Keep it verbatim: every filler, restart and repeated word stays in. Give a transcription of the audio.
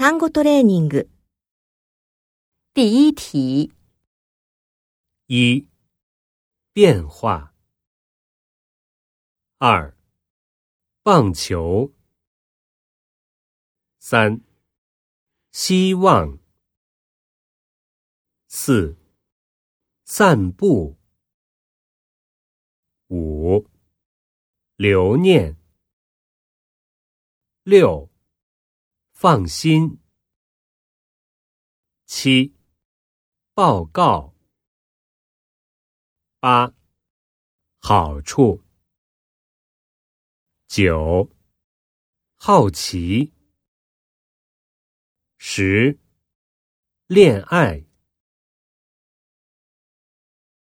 単語トレーニング。 第一题。 一、变化。二、棒球。三、希望。四、散步。五、留念。六、放心。七、报告。八、好处。九、好奇。十、恋爱。